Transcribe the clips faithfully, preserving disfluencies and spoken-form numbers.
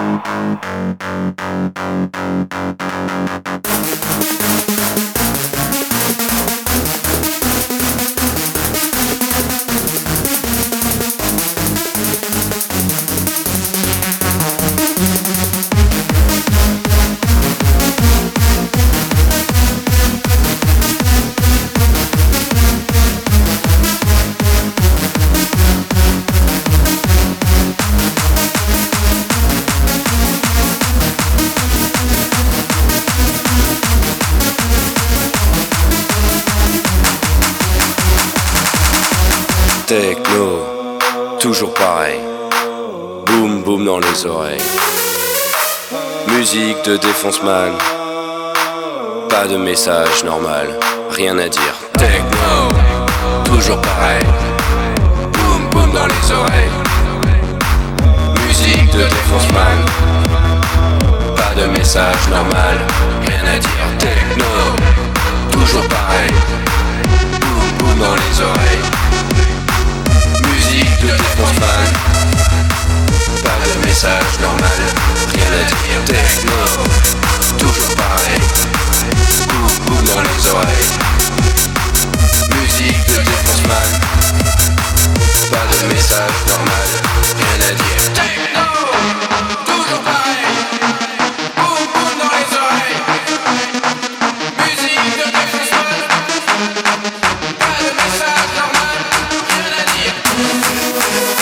Techno, toujours pareil. Boum boum dans les oreilles. Musique de défonce-man. Pas de message normal, rien à dire. Techno, toujours pareil. Boum boum dans les oreilles. Musique de défonce-man. Pas de message normal, rien à dire. Techno, toujours pareil. Boum boum dans les oreilles. Musique de défonce-man. Pas de message normal, rien à dire. Techno, toujours pareil. Boum boum dans les oreilles. Musique de défonce-man. Pas de message normal, rien à dire. Techno, toujours pareil. Boum boum dans les oreilles. Musique de défonce-man. Pas de message normal, rien à dire.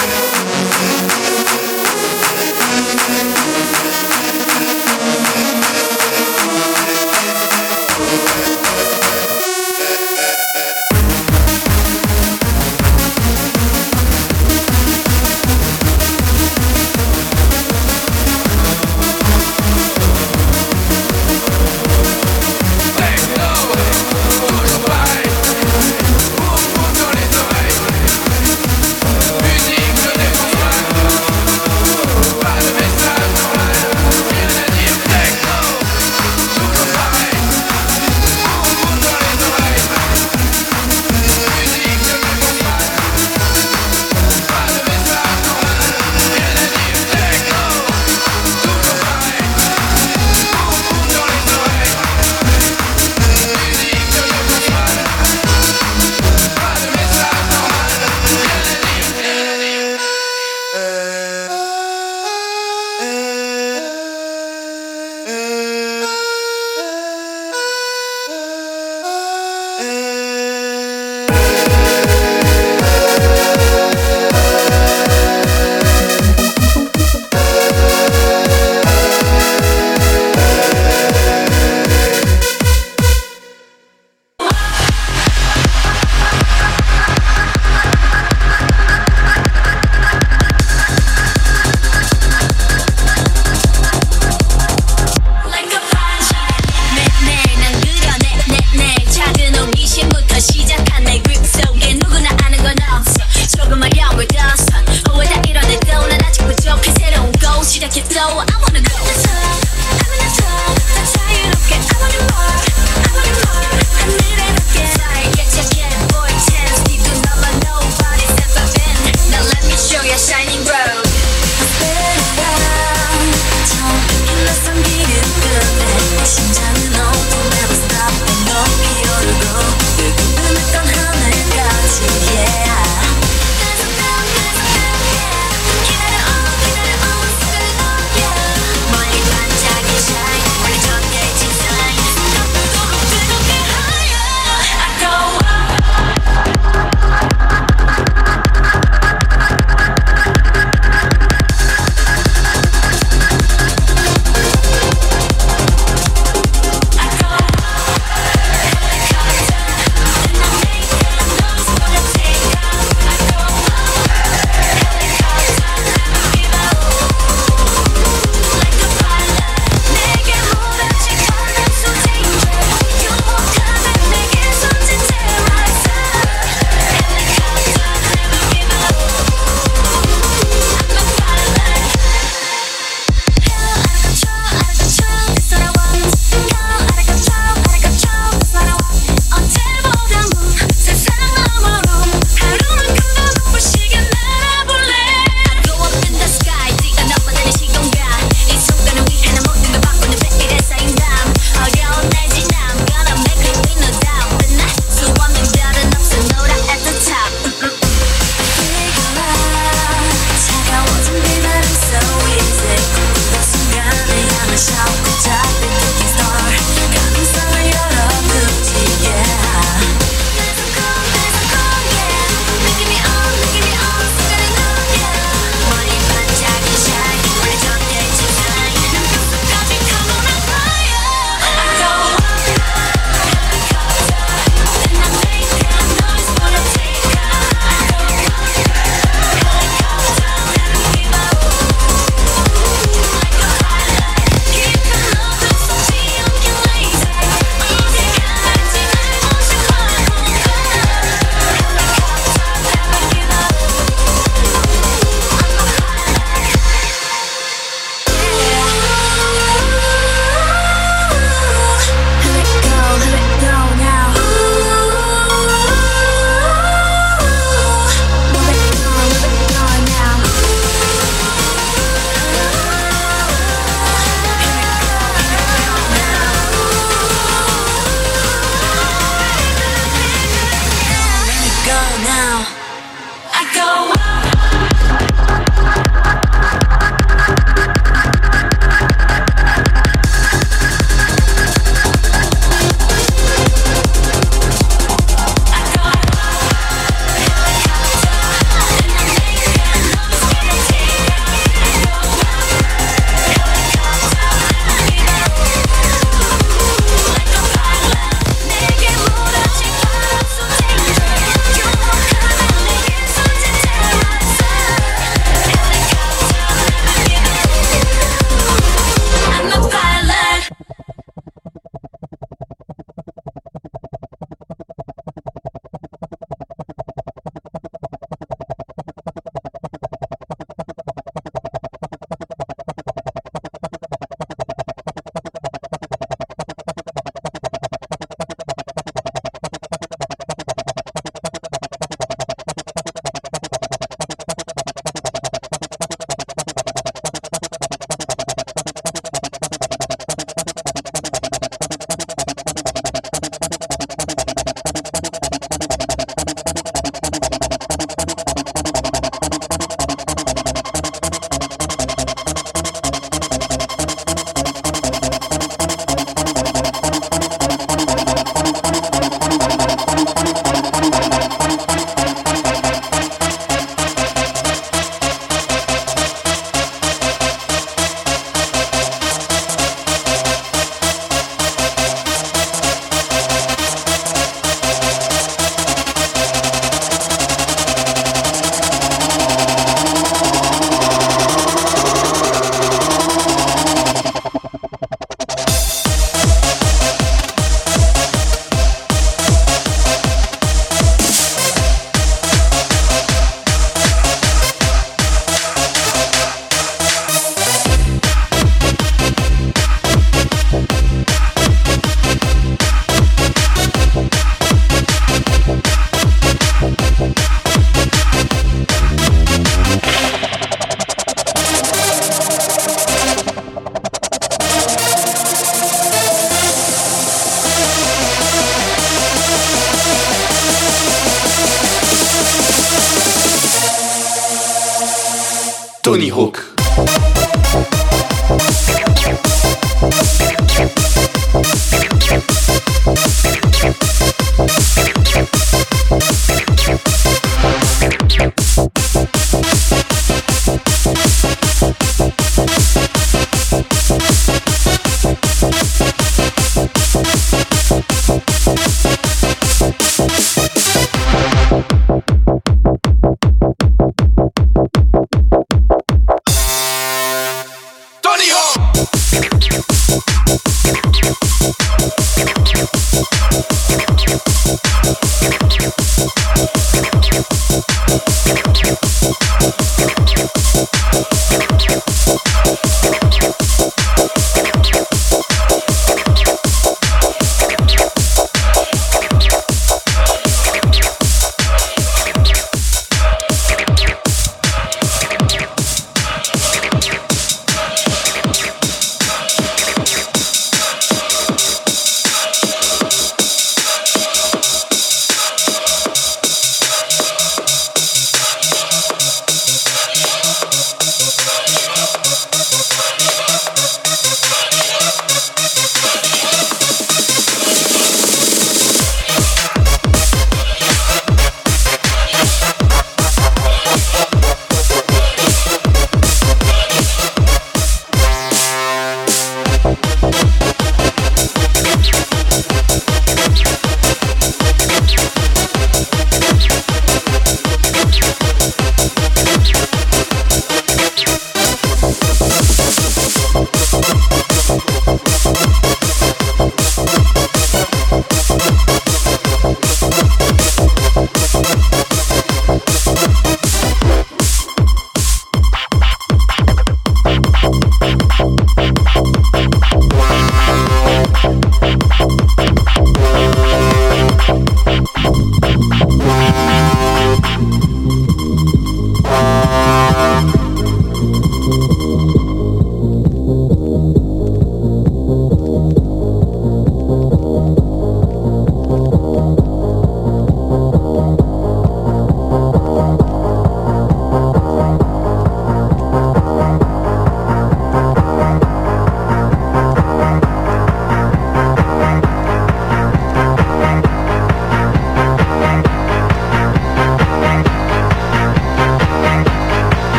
Tony Hawk.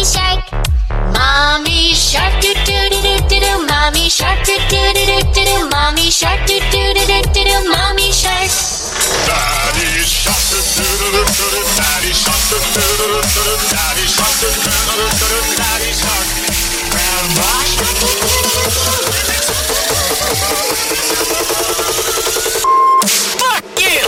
shark. Mommy shark do do do do do do. Mommy shark do do do do do do. Mommy shark do do do do do do. Mommy shark. Daddy shark do do do do do. Daddy shark do do do do do. Daddy shark do do do do do. Daddy shark. Grandma shark. Fuck you.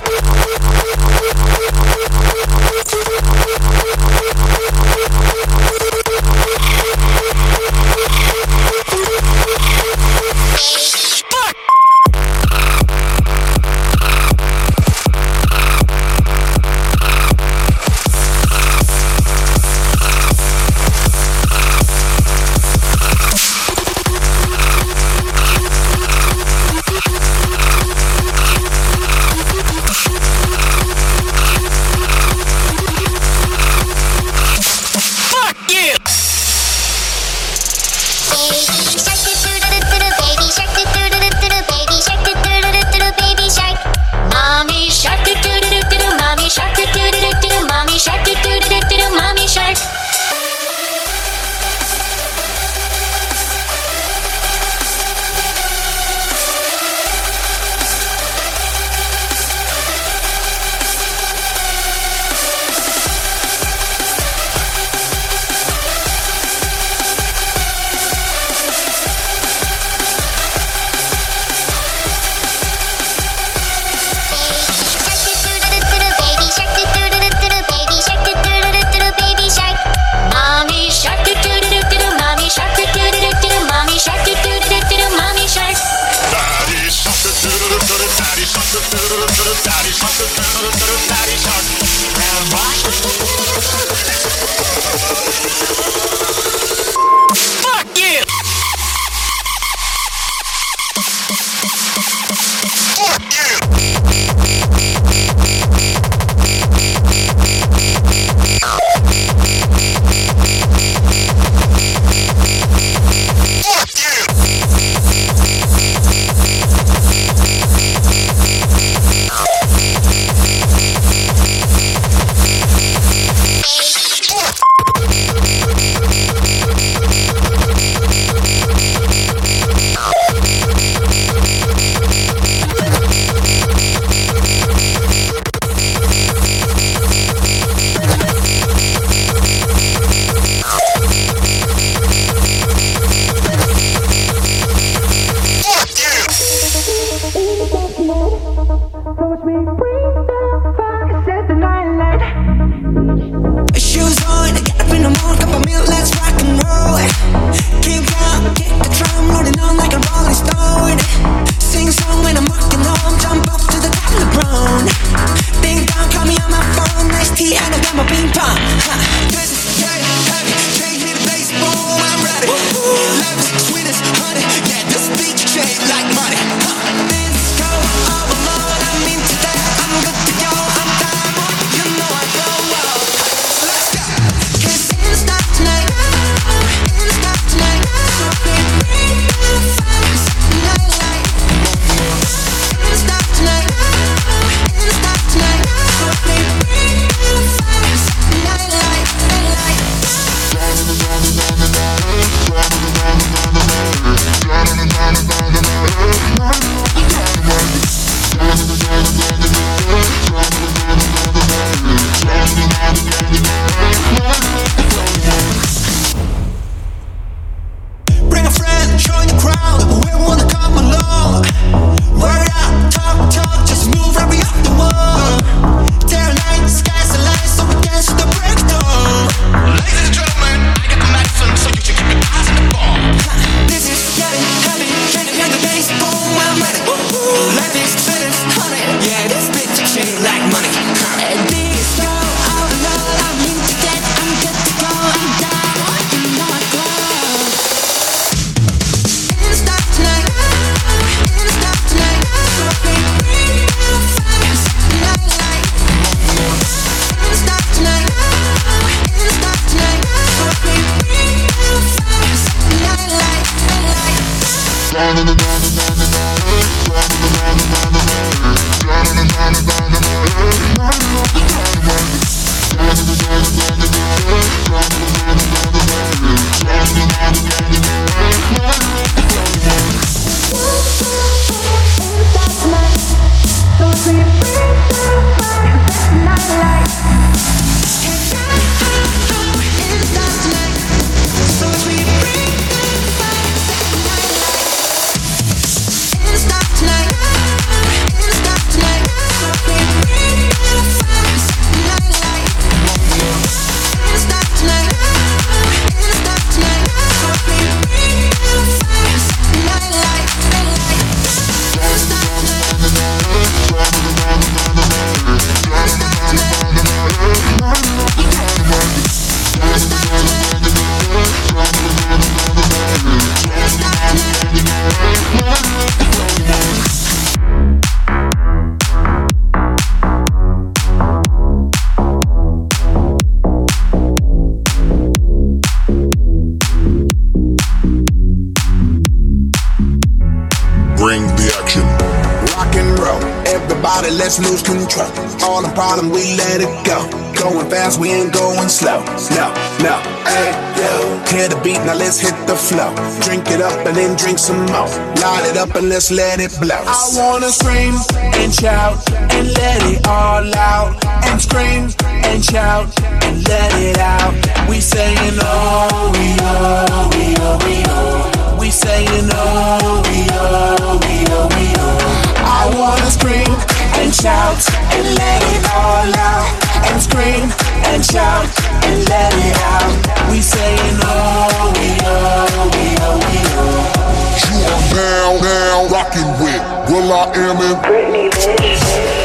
about it, let's lose control. All the problem, we let it go. Going fast, we ain't going slow. No, no, hey, yo. Clear the beat, now let's hit the flow. Drink it up and then drink some more. Light it up and let's let it blow. I wanna scream and shout and let it all out. And scream and shout and let it out. We saying oh, we oh, we oh, we oh. We saying oh, we oh, we oh, we oh. I wanna scream and shout and let it all out. And scream and shout and let it out. We saying oh, we oh, we oh, we oh. You are now, now rocking with Will I Am in Britney, bitch.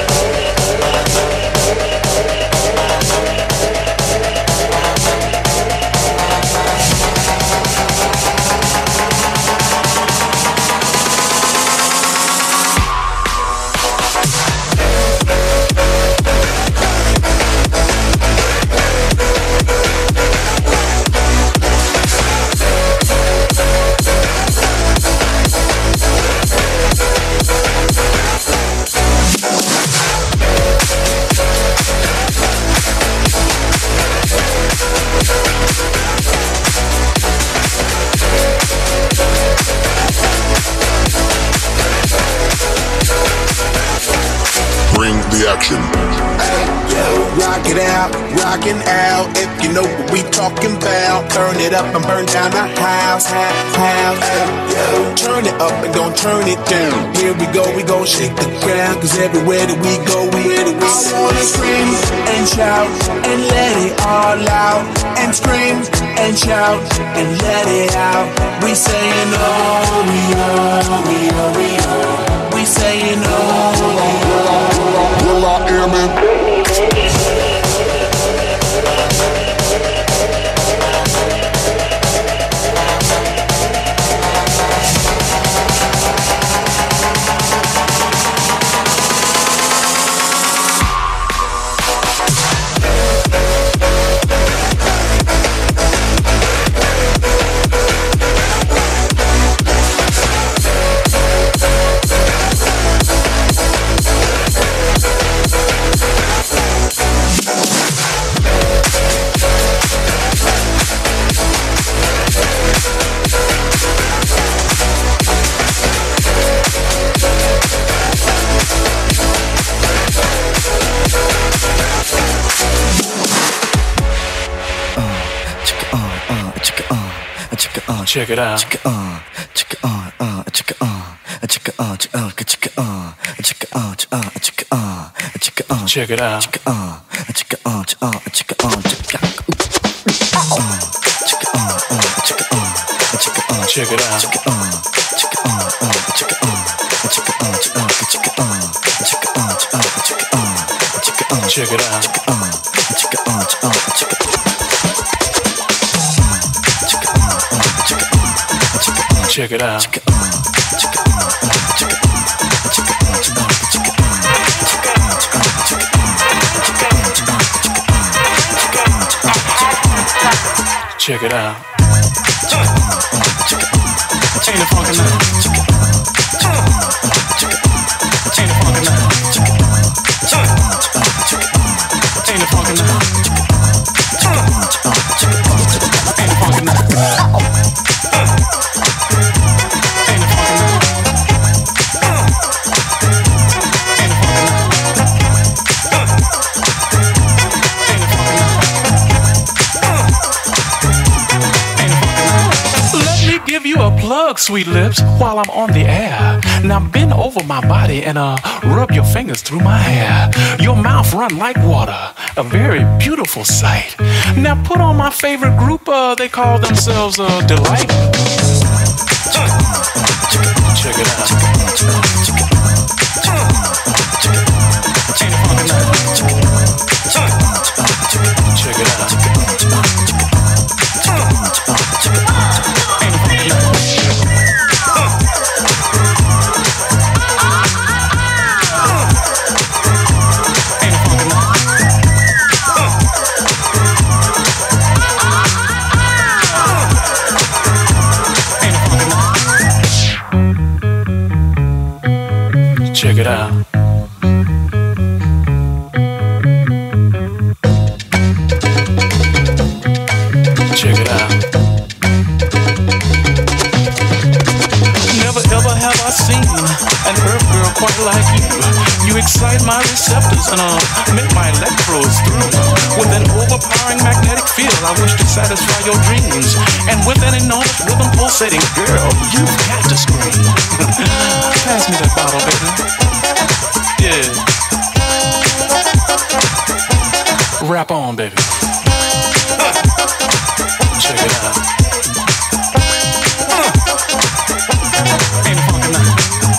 Action. Hey, yo, rock it out, rockin' out. If you know what we talking about, turn it up and burn down the house, house, house. Hey, yo, turn it up and gon' turn it down. Here we go, we gon' shake the ground, cause everywhere that we go, we, we I wanna scream and shout and let it all out. And scream and shout and let it out. We saying oh, we oh, we oh, we oh. We saying oh, we oh. Will I Am in Britney, bitch. Check it out. Check it on, check it on, uh, check it on, check it on, check it on, check it on, check it on, check it on, check it on, check it on, check it out. Check it on, check it on, check it on, check it on, check it on, check it on, check it on, check it on, check it out. Check it on, check it on, check it on, check it on, check it on, check it on, check it on, check it on, check it on, check it out. Check it on, check it on, check it on. Check it out. Check it on, check it on, check it on, check it on, check it on, check it on, check it on, check it on, check it out. Ain't it funky now? Ain't it funky now? Ain't it funky now? Ain't it funky now? Plug, sweet lips, while I'm on the air. Now bend over my body and uh rub your fingers through my hair. Your mouth run like water, a very beautiful sight. Now put on my favorite group, uh, they call themselves uh, Delight. Check it out. Check it out. Check it out. uh, quite like you. You excite my receptors and uh, make my electrodes through. With an overpowering magnetic field, I wish to satisfy your dreams. And with an enormous rhythm pulsating, girl, you've got to scream. Pass me that bottle, baby. Yeah. Rap on, baby. Check it out. Ain't it funky now?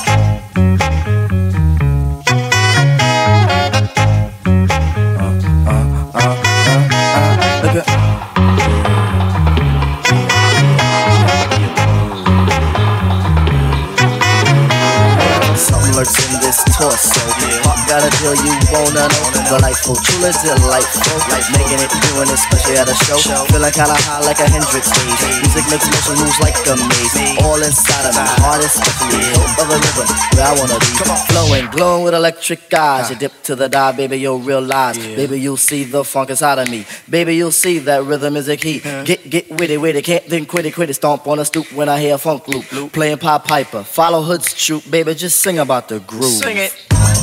Lurks in this torso. Pop got a deal you wanna know. Delightful, truly delightful. Like making it, doing it, especially at a show. Feeling kinda high like a Hendrix stage. Music makes motion moves like a maze. All inside of me, heart especially. Hope of a rhythm where I wanna be. Flowing, glowing with electric eyes. You dip to the dive, baby, you'll realize. Baby, you'll see the funk inside of me. Baby, you'll see that rhythm is a key. Get, get witty, witty, can't then quit it, quit it. Stomp on a stoop when I hear a funk loop. Playing Pied Piper, follow Hood's troop. Baby, just sing about the groove. Sing it.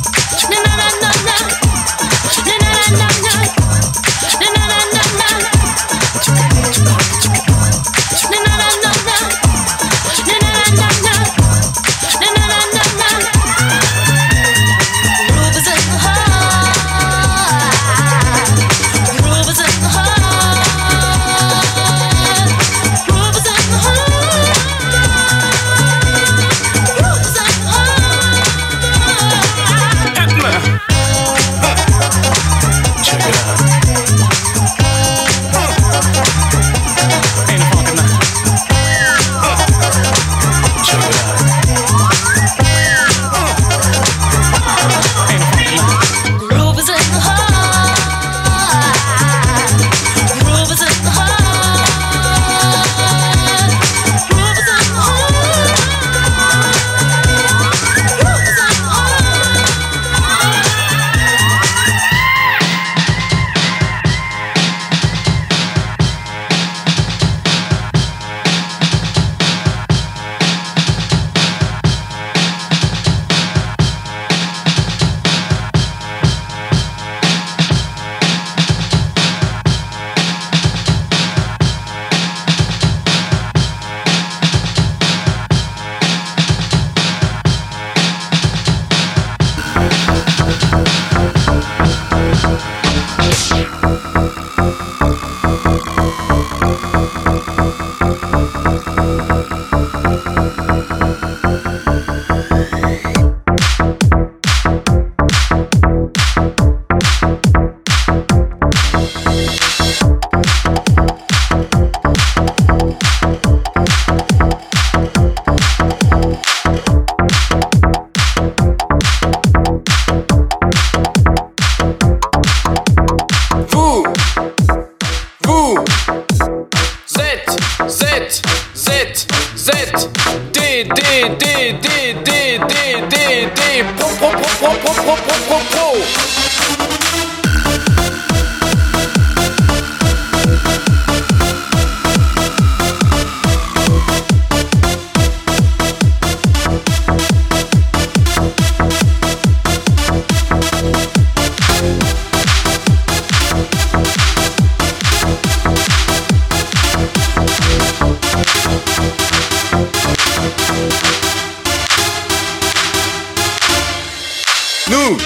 Nous,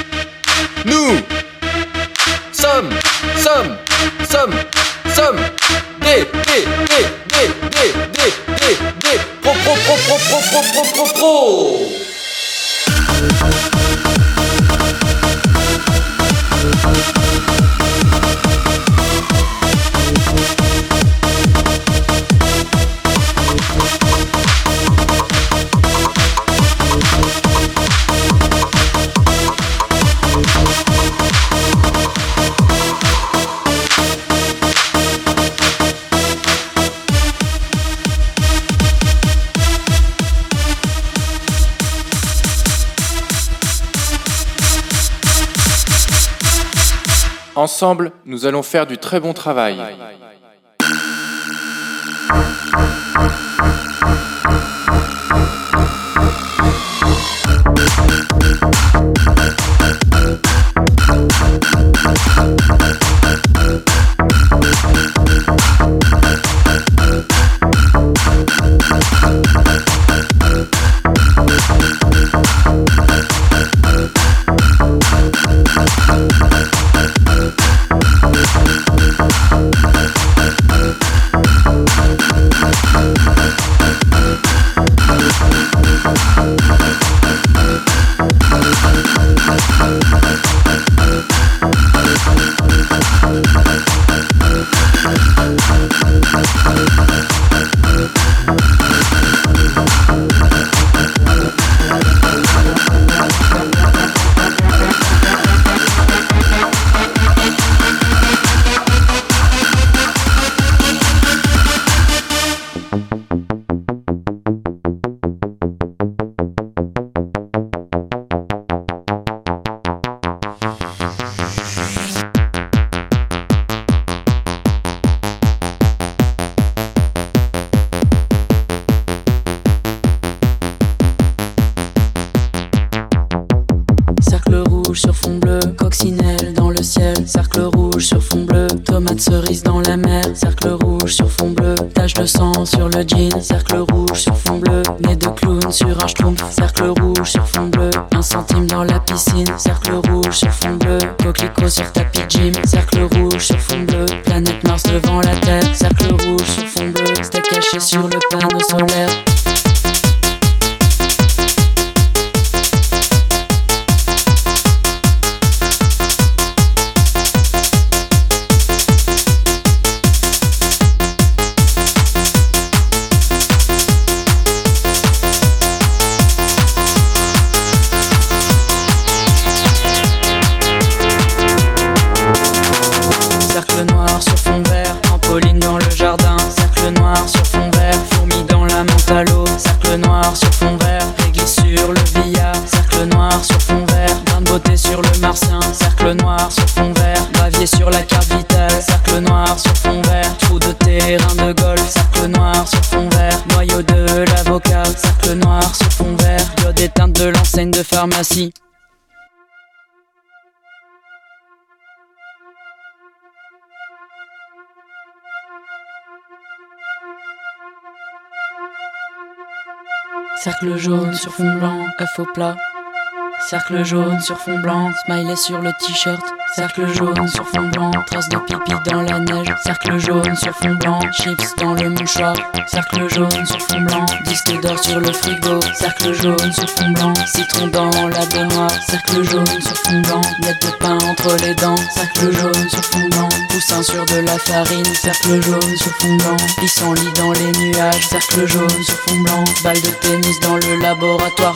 nous sommes, sommes, sommes, sommes des, des, des, des, des, des, des, des, pro, pro, pro, pro, pro, pro, pro, pro, pro. Ensemble, nous allons faire du très bon travail. cercle rouge sur fond bleu, coccinelle dans le ciel, cercle rouge sur fond bleu, tomate cerise dans la mer, cercle rouge sur fond bleu, tache de sang sur le jean, cercle rouge sur fond bleu, nez de clown sur un schtroumpf, cercle rouge sur fond bleu, un centime dans la piscine, cercle rouge sur fond bleu, coquelicot sur tapis gym, cercle rouge sur fond bleu, planète Mars devant la Terre, cercle rouge sur fond bleu, steak caché sur le panneau solaire. Cercle noir sur fond vert, trampoline dans le jardin. Cercle noir sur fond vert, fourmi dans la menthe à l'eau. Cercle noir sur fond vert, réglisse sur le billard. Cercle noir sur fond vert, grain de beauté sur le martien. Cercle noir sur fond vert, gravier sur la carte vitale. Cercle noir sur fond vert, trou de terrain de golf. Cercle noir sur fond vert, noyau de l'avocat. Cercle noir sur fond vert, diode éteinte de l'enseigne de pharmacie. Cercle jaune sur fond blanc, œuf au plat. Cercle jaune sur fond blanc, smiley sur le t-shirt. Cercle jaune sur fond blanc, trace de pipi dans la neige. Cercle jaune sur fond blanc, chips dans le mouchoir. Cercle jaune sur fond blanc, disque d'or sur le frigo. Cercle jaune sur fond blanc, citron dans la baignoire. Cercle jaune sur fond blanc, miette de pain entre les dents. Cercle jaune sur fond blanc, poussin sur de la farine. Cercle jaune sur fond blanc, pissenlit dans les nuages. Cercle jaune sur fond blanc, balle de tennis dans le laboratoire.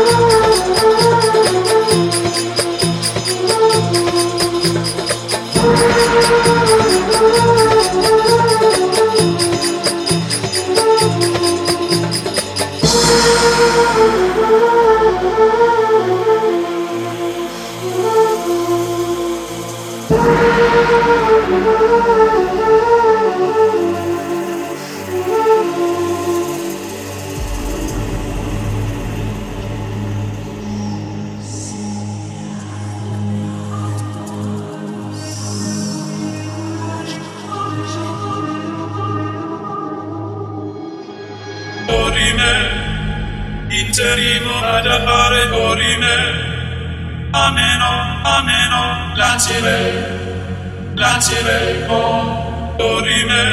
Dorime, interimo ad appare dorime, ameno, ameno, lancire, lancire, oh, dorime,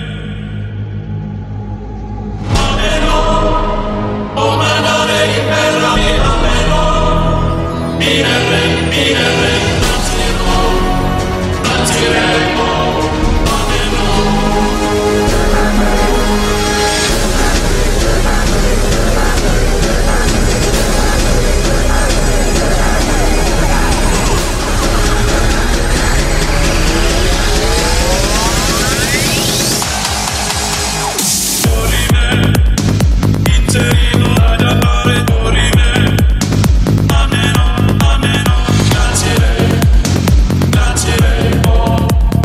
ameno, oh, manare, imperami, ameno, minere, minere, lanciro, lancire, oh, ameno, ameno, lancire, lancire, oh.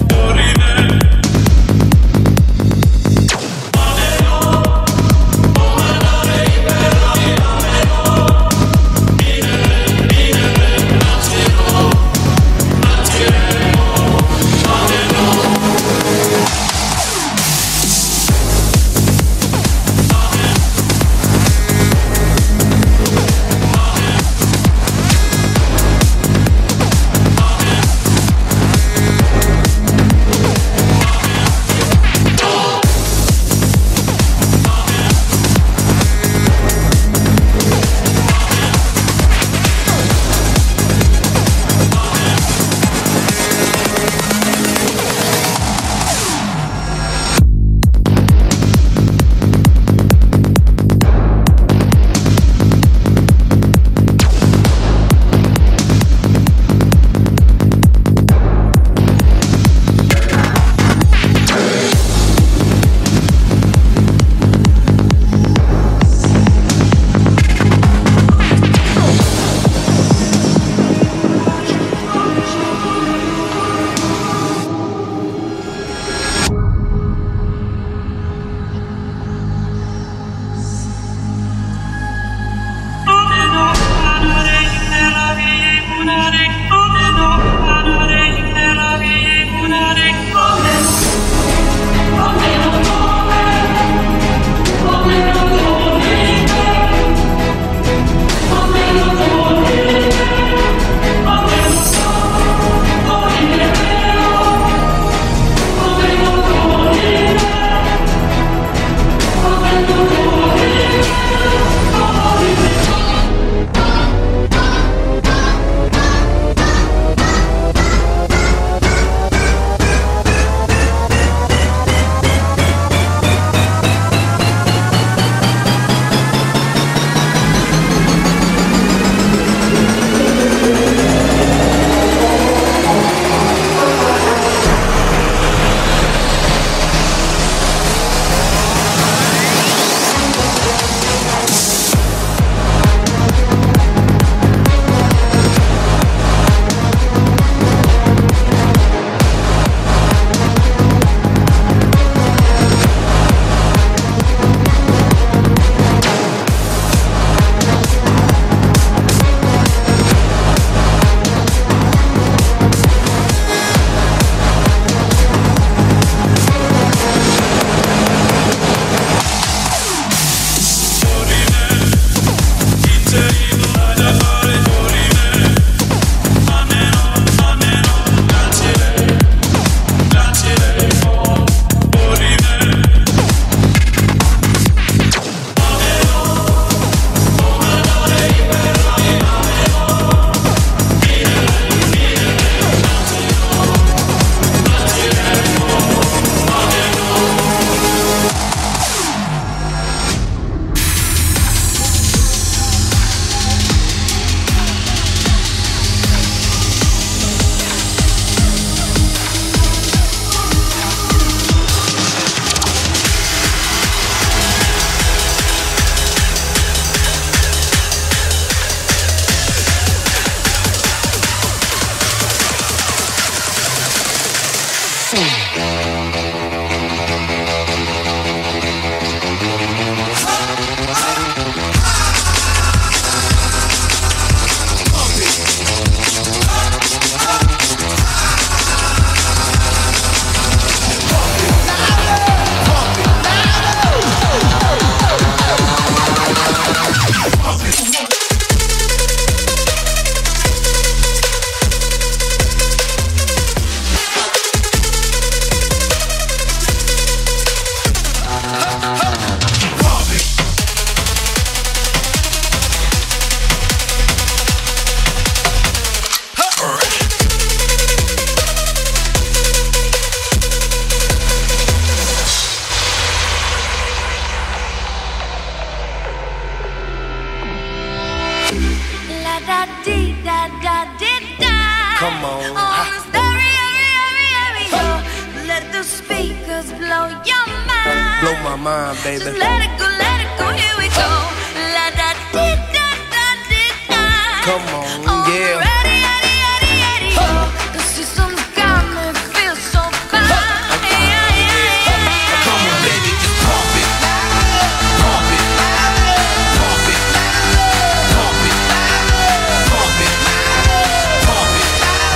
Come on. On the stereo, stereo, let the speakers blow your mind. Blow my mind, baby. Just let it go, let it go, here we go. La da dee da da dee da. Come on, On the yeah. radio, radio, radio, the system's got me feel so fine. Yeah, yeah, yeah. Come on, baby, just pump it. Pump it. Pump it. Pump it. Pump it. Pump it.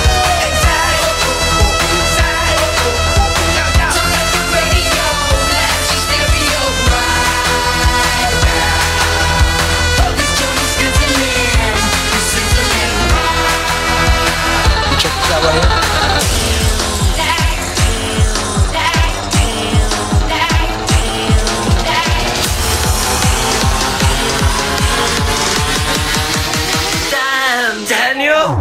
Turn up the radio, blast your stereo right now. This joint is sizzling, it's sizzling right. Check this out right here. Damn, Daniel.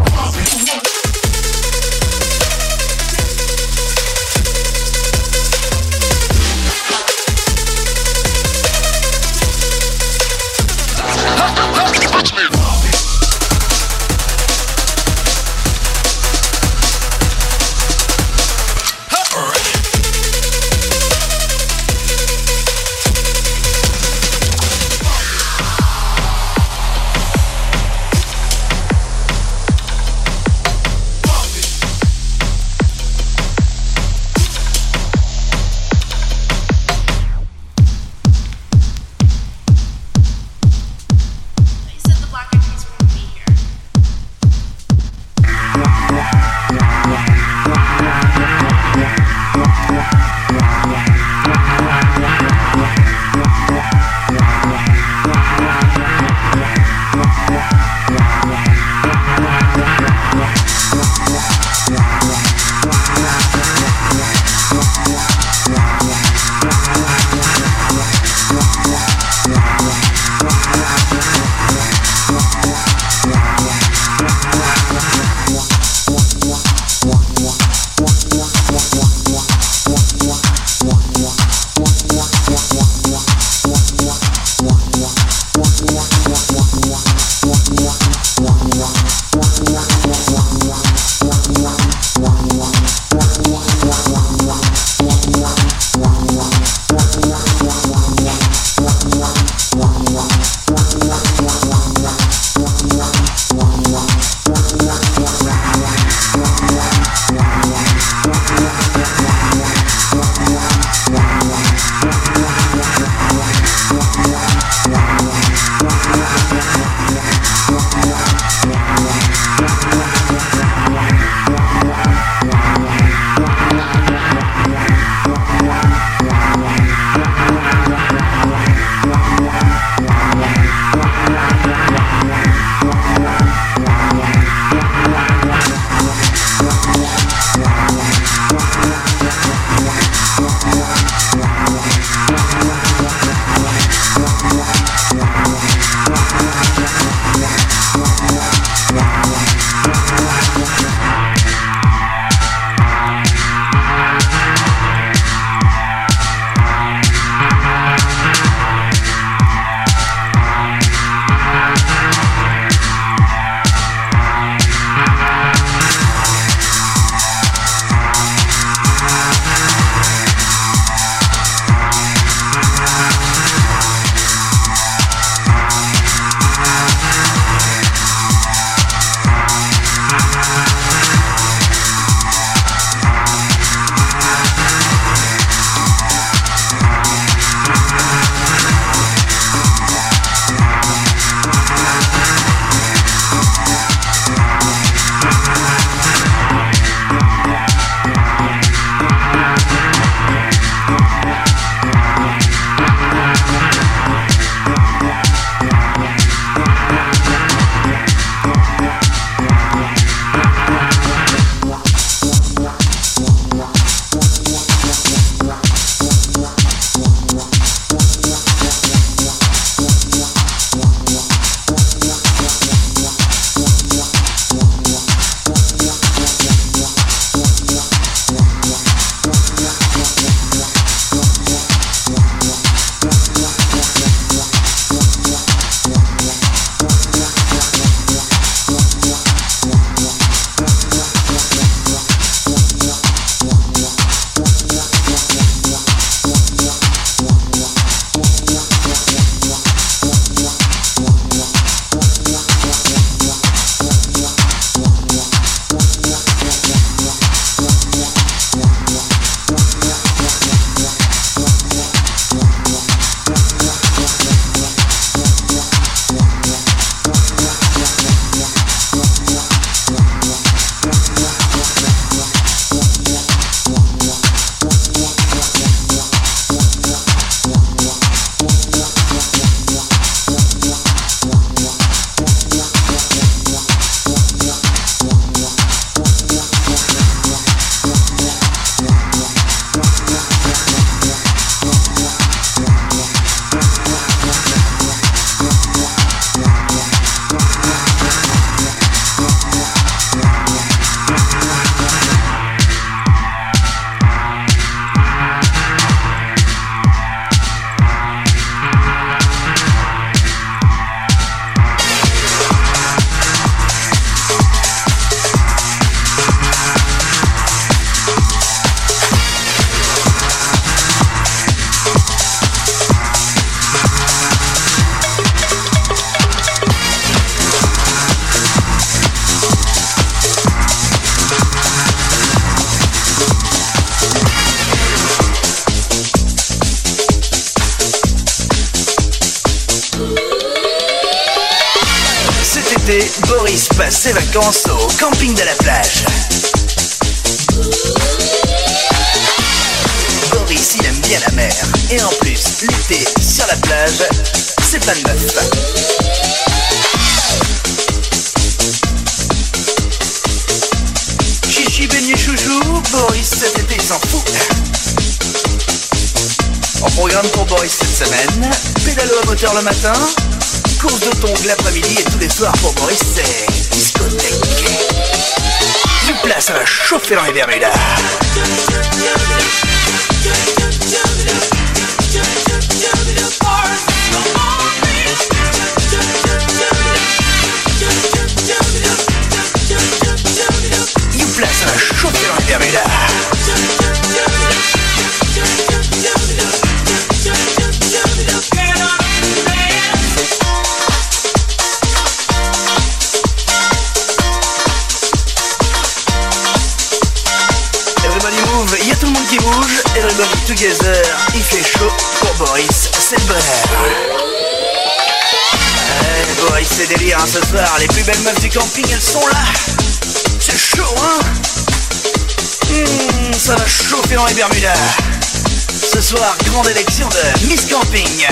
Boris passe ses vacances au camping de la plage. Boris, il aime bien la mer. Et en plus, l'été, sur la plage, c'est plein de meufs. Chichi, beignet, chouchou, Boris, cet été, il s'en fout. En programme pour Boris cette semaine, pédalo à moteur le matin, course de tongs l'après-midi et tous les soirs pour Boris, c'est discothèque. Du plat, ça va chauffer dans les Bermudas. Du plat, ça va chauffer dans les Bermudas. Il y a tout le monde qui bouge, everybody together, il fait chaud pour Boris, c'est le bonheur. Ouais, Boris, c'est délire hein, ce soir, les plus belles meufs du camping, elles sont là. C'est chaud, hein. Mmh, ça va chauffer dans les Bermudas. Ce soir, grande élection de Miss Camping.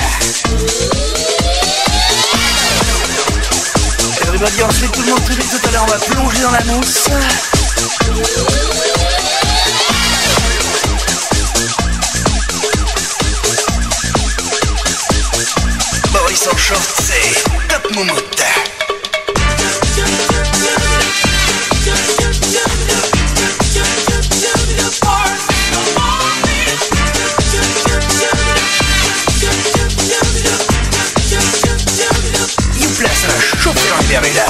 Everybody en slip, tout le monde très vite, tout à l'heure, on va plonger dans la mousse. Boris en short, c'est top moumoute. You place un chauffer dans les Bermudas.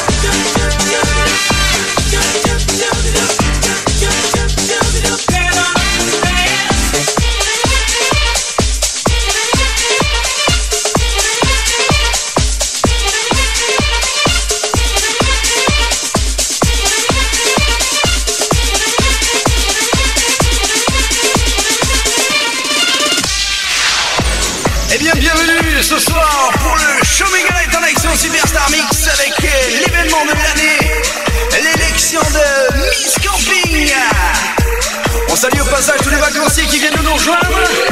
Ce soir pour le Show Me Galette en action Superstar Mix avec l'événement de l'année, l'élection de Miss Camping. On salue au passage tous les vacanciers qui viennent de nous rejoindre.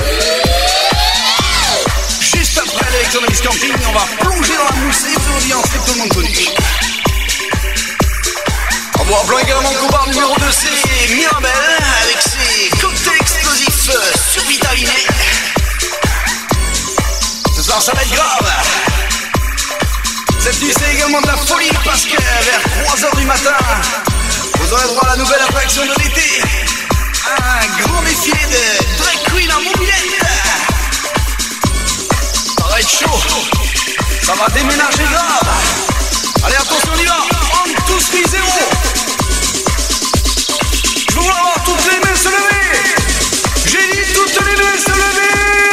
Juste après l'élection de Miss Camping, on va plonger dans la mousse et vous audience que tout le monde connu. En bois blanc également, combat numéro deux, c'est Mirabelle avec ses cocktails explosifs survitaminés. Ce soir ça va être grave. Cette nuit c'est également de la folie parce que vers trois heures du matin vous aurez droit à la nouvelle attraction de l'été, un grand défilé de drag queen en mobilette. Ça va être chaud, ça va déménager grave. Allez attention, on y va, on tous mis zéro. Je veux voir toutes les mains se lever. J'ai dit toutes les mains se lever.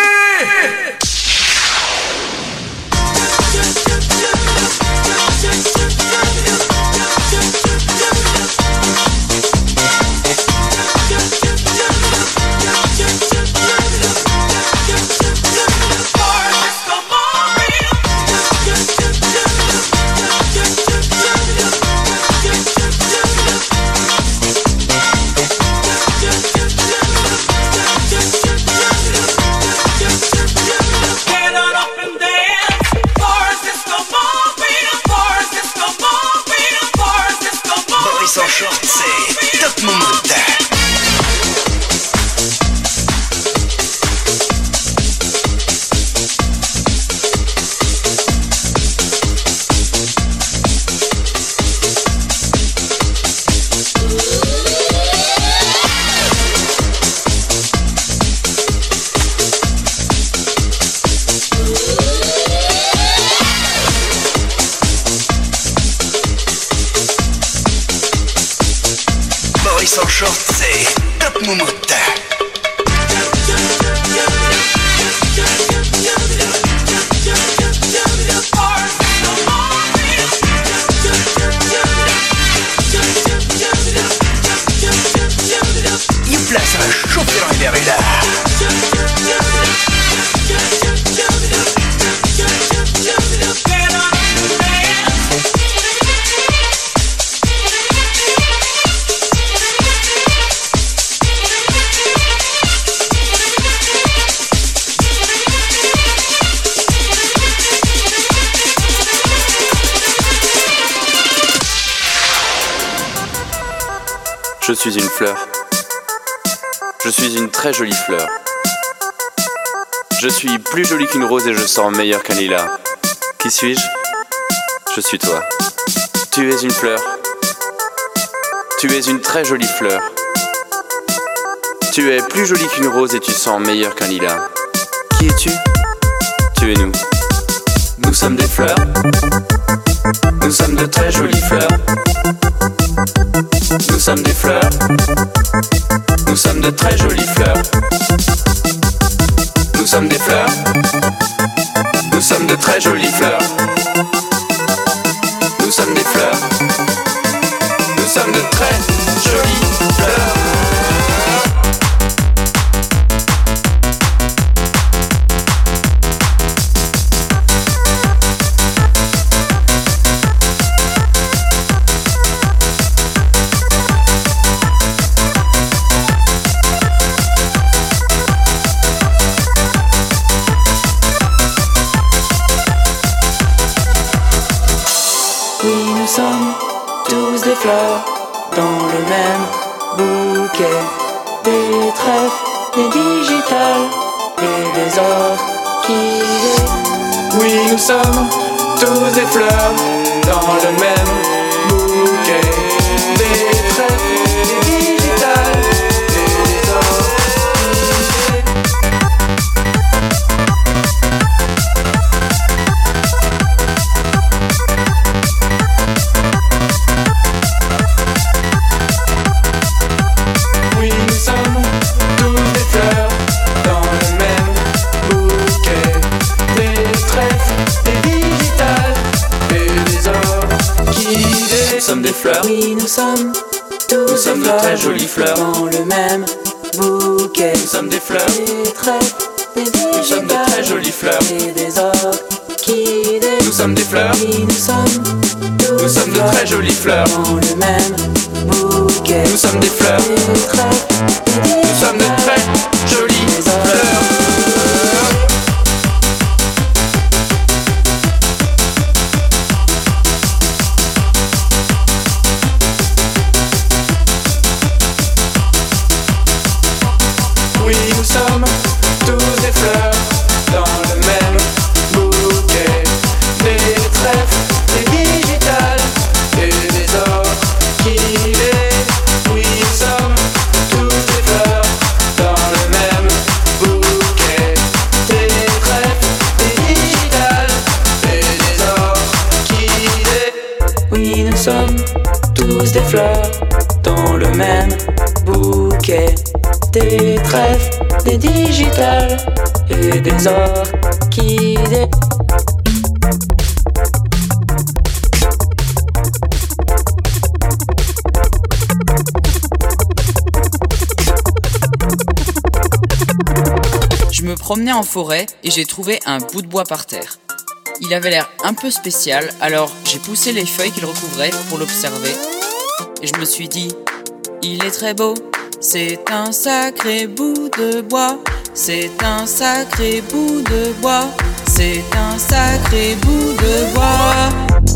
Boris en short, c'est top moumoute. Boris en short, c'est Top Moumoute. Il place un chauffer dans les verres là. Je suis une fleur. Je suis une très jolie fleur. Je suis plus jolie qu'une rose et je sens meilleur qu'un lilas. Qui suis-je? Je suis toi. Tu es une fleur. Tu es une très jolie fleur. Tu es plus jolie qu'une rose et tu sens meilleur qu'un lilas. Qui es-tu? Tu es nous. Nous sommes des fleurs. Nous sommes de très jolies fleurs. Nous sommes des fleurs. Nous sommes de très jolies fleurs. Nous sommes des fleurs. Nous sommes de très jolies fleurs. Nous sommes des fleurs. Nous sommes de très jolies fleurs. Nous sommes tous des fleurs dans le même bouquet, des trèfles, des digitales et des orchidées. Oui, nous sommes tous des fleurs dans le même bouquet, des trèfles, des digitales et des orchidées. Oui, nous sommes tous des fleurs dans le même bouquet, des trèfles, des digitales et des orchidées. Nous sommes des fleurs. Oui, nous sommes tous Nous sommes de très jolies fleurs. dans le même bouquet, Nous sommes des fleurs. des trèfles, des Nous sommes de très digitales jolies fleurs. et des orchidées. Nous sommes des fleurs. Oui, nous sommes tous Nous sommes de très jolies fleurs. dans le même bouquet, Nous sommes des fleurs. des trèfles, des Nous sommes de très jolies fleurs. Oui, nous sommes tous des fleurs dans le même bouquet, des trèfles, des digitales et des orchidées. Oui, nous sommes tous des fleurs dans le même bouquet, des trèfles, des digitales et des orchidées. Oui, nous sommes tous des fleurs dans le même bouquet, des trèfles, des digitales et des orchidées. Je me promenais en forêt et j'ai trouvé un bout de bois par terre. Il avait l'air un peu spécial, alors j'ai poussé les feuilles qu'il recouvrait pour l'observer. Et je me suis dit, il est très beau, c'est un sacré bout de bois, c'est un sacré bout de bois, c'est un sacré bout de bois.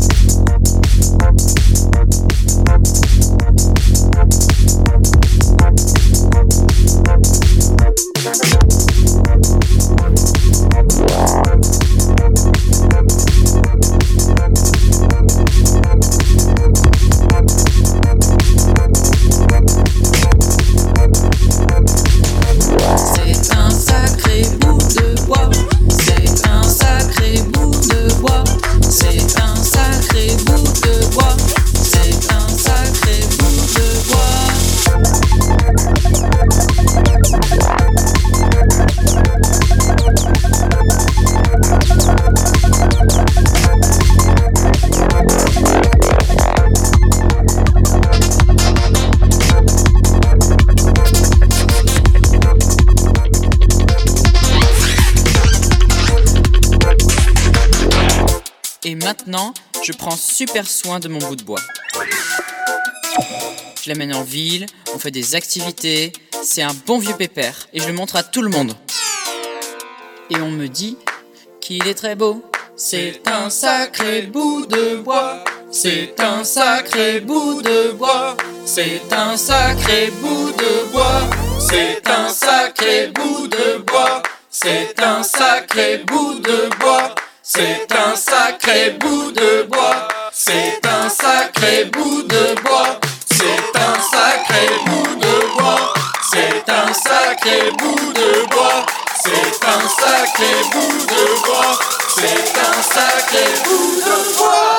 C'est un sacré bout de bois, c'est un sacré bout de bois, c'est un sacré maintenant, je prends super soin de mon bout de bois. Je l'amène en ville, on fait des activités, c'est un bon vieux pépère et je le montre à tout le monde. Et on me dit qu'il est très beau. C'est un sacré bout de bois, c'est un sacré bout de bois, c'est un sacré bout de bois, c'est un sacré bout de bois, c'est un sacré bout de bois, c'est un sacré bout de bois, c'est un sacré bout de bois, c'est un sacré bout de bois, c'est un sacré bout de bois, c'est un sacré bout de bois, c'est un sacré bout de bois.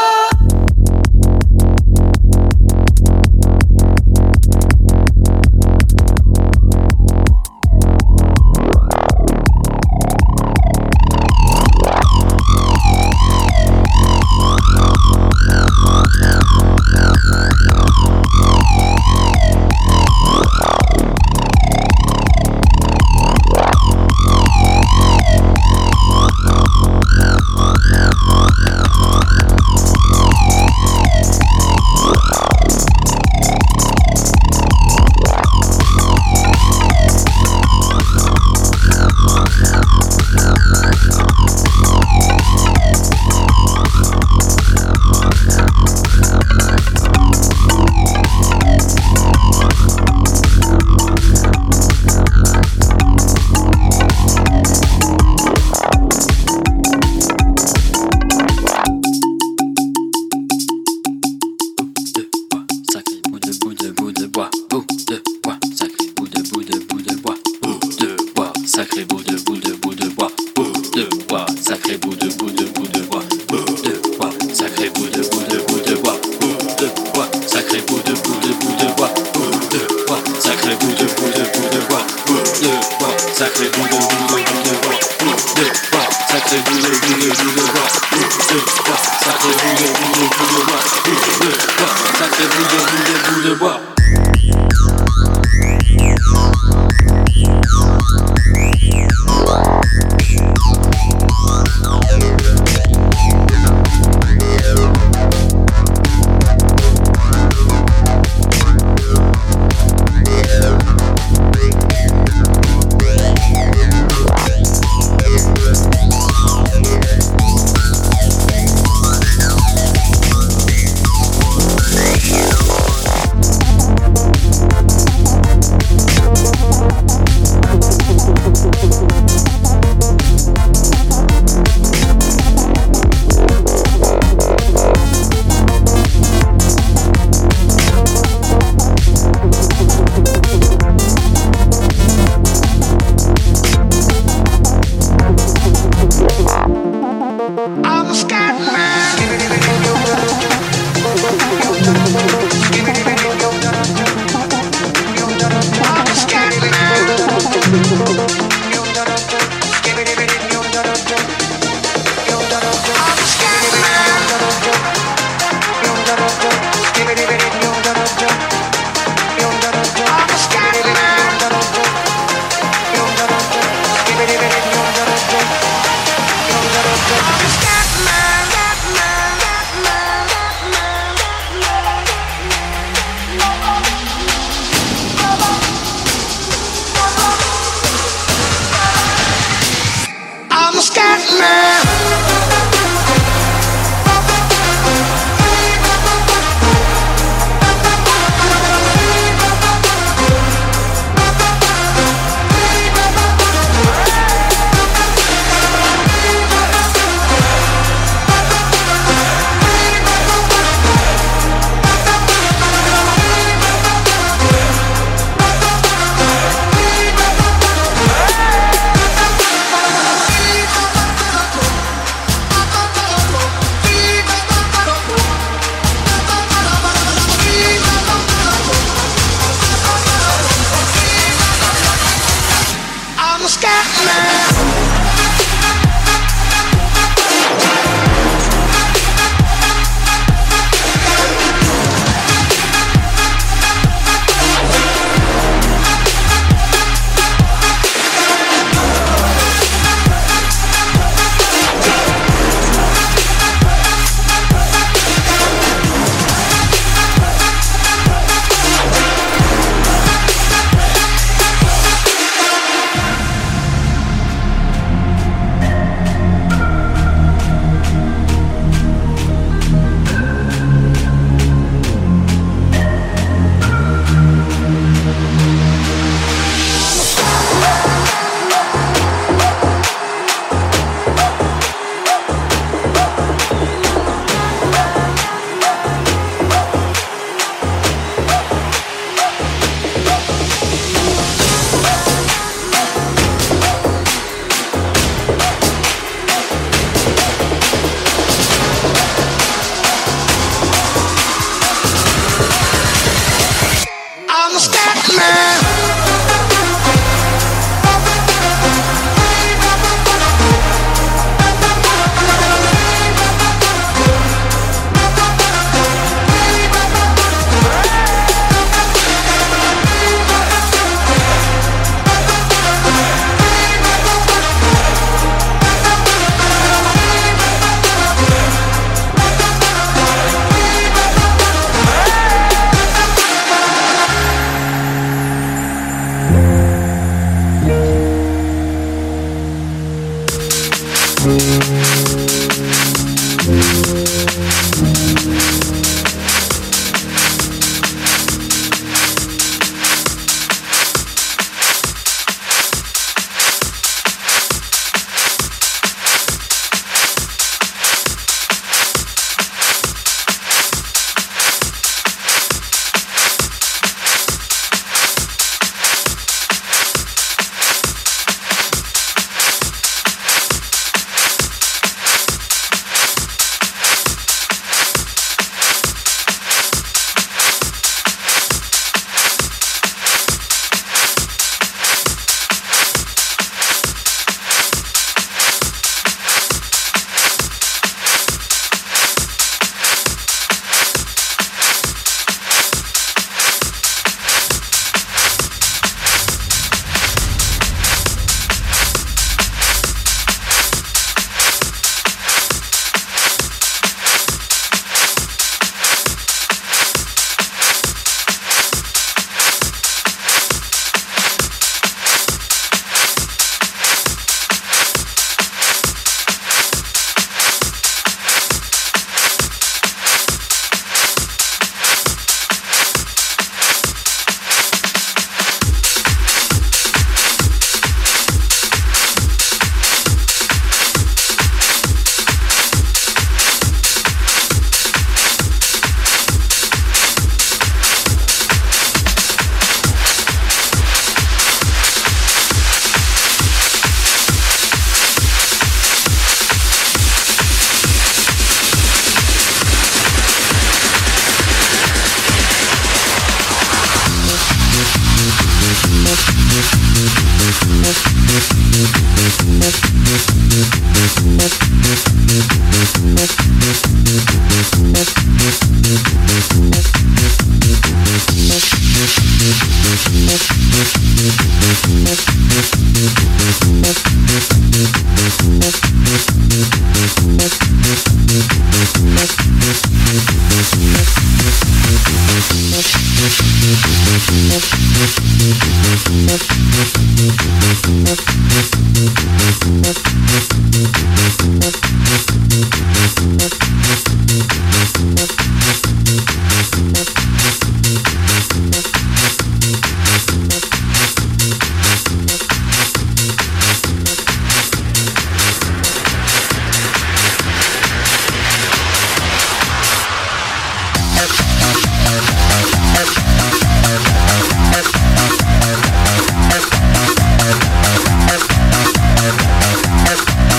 We'll be right back.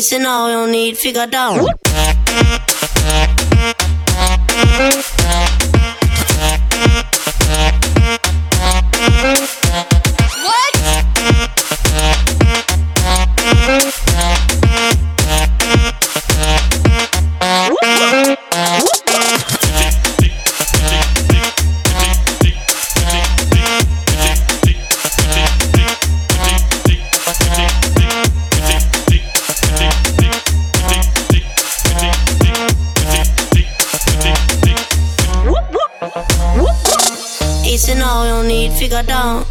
Easy now, you don't need figure down. Easy now, you don't need figure down.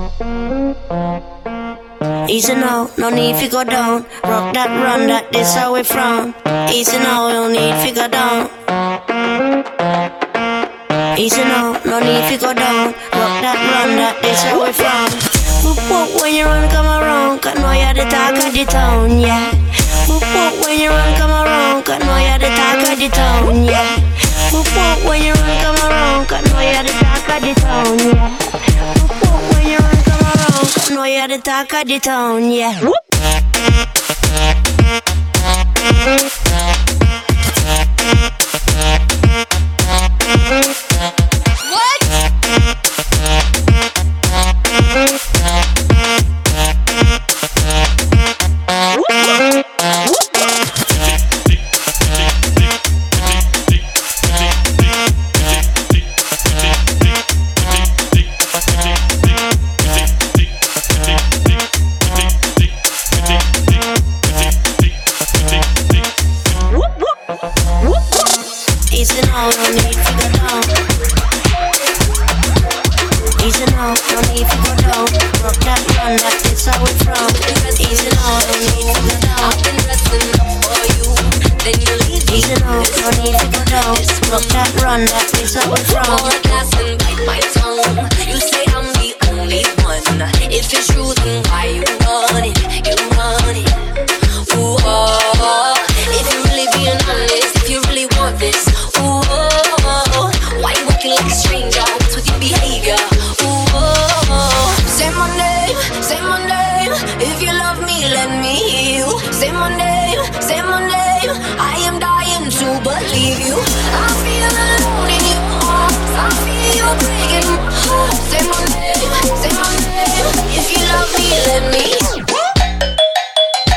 Easy now, no need figure down. Rock that, run that, this how we from. Easy now, you don't need figure down. Easy now, no need figure down. Rock that, run that, this how we from. Whoop whoop when you run, come around, 'cause know you're the talk of the town, yeah. Whoop whoop when you run, come around, 'cause know you're the talk of the town, yeah. Whoop whoop when you run, come around, 'cause know you're the talk of the town, yeah. Whoop whoop when you run, come around, 'cause know you're the talk of the town, yeah. Easy now, no need to go down. Easy now, no need to go down. Rock that, run that, this how we from. Easy now, no need to go down. I've been dressing up for you, then you leave me. Easy now, no need to go down. Rock that, run that, this how we from. Pour a glass and bite my tongue. You say I'm the only one. If it's true, then why you run it? You run it. Ooh, oh. If you're really being honest, if you really want this. Ooh, oh, why you walking like a stranger? What's with your behavior? Ooh, oh, say my name, say my name. If you love me, let me heal. Say my name, say my name. I am dying to believe you. I feel alone in your arms. I feel you breaking my heart. Say my name, say my name. If you love me, let me heal.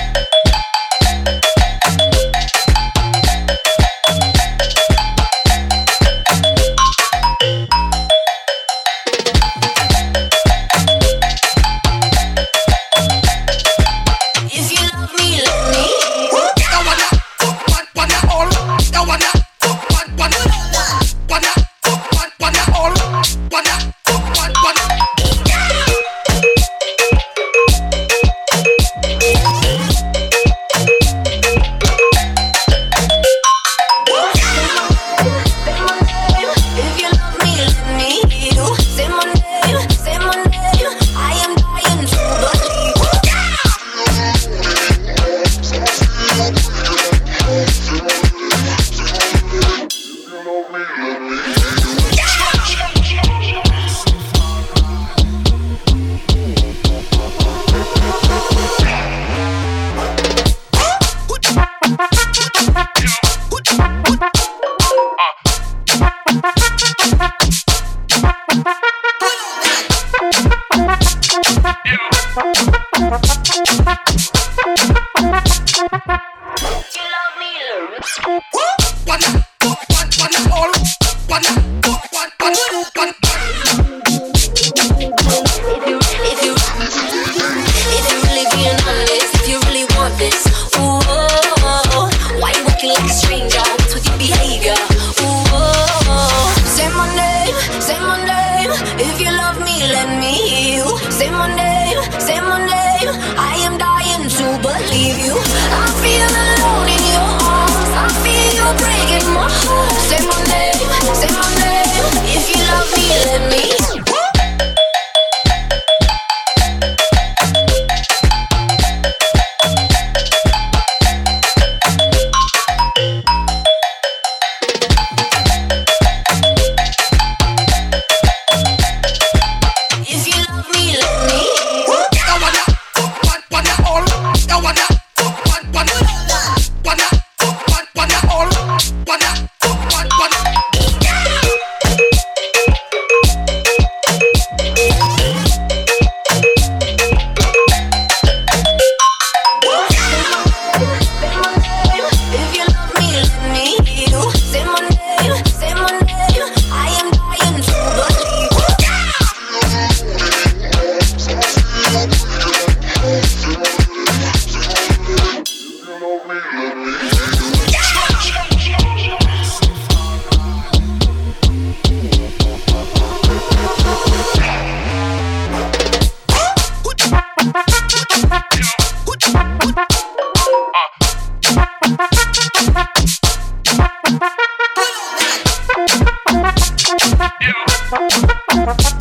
Thank you.